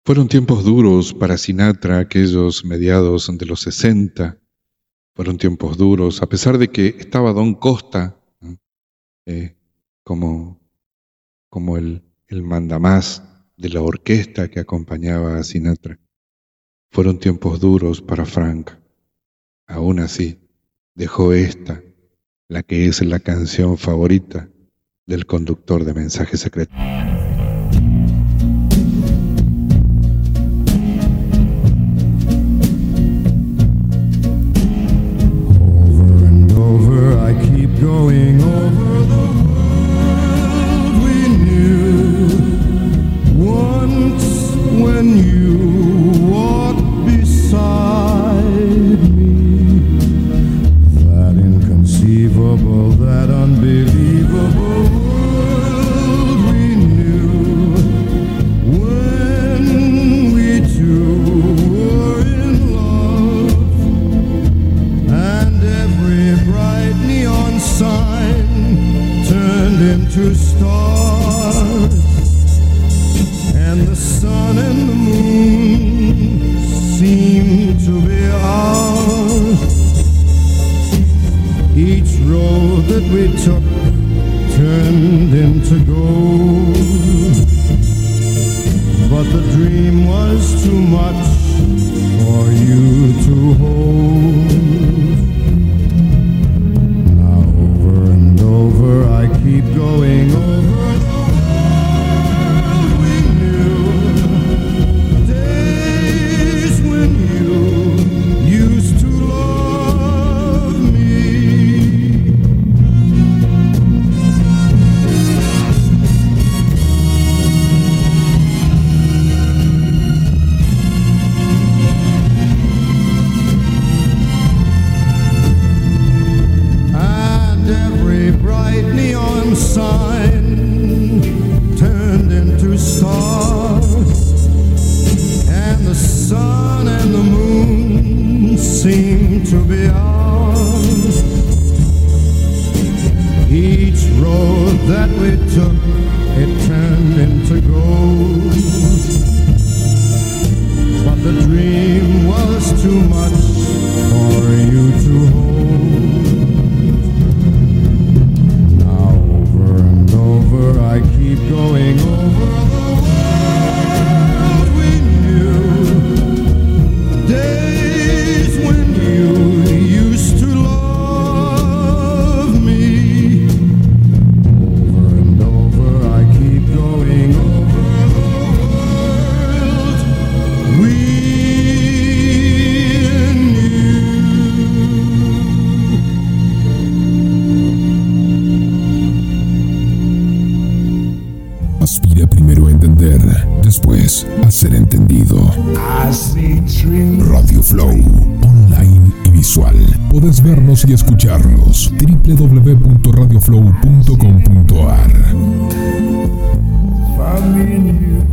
Fueron tiempos duros para Sinatra, aquellos mediados de los 60. Fueron tiempos duros, a pesar de que estaba Don Costa, ¿no? como el mandamás de la orquesta que acompañaba a Sinatra. Fueron tiempos duros para Frank. Aún así, dejó esta, la que es la canción favorita del conductor de Mensaje Secreto. Going over the world we knew once when you walked beside me. That inconceivable, that unbelievable world we knew when we two were in love, and every bright neon sign turned into stars, and the sun and the moon seemed to be ours. Each road that we took turned into gold, but the dream was too much for you to hold. I keep going over the world we knew, days when you used to love me. And every bright neon sign turned into stars, and the sun and the moon seemed to be ours. Each road that we took, it turned into gold, but the dream was too much for you to hold. I keep going over the world we knew, days when you used to love me. Over and over I keep going over the world we Aspira primero a entender, después a ser entendido. Radio Flow, online y visual. Podés vernos y escucharnos. www.radioflow.com.ar.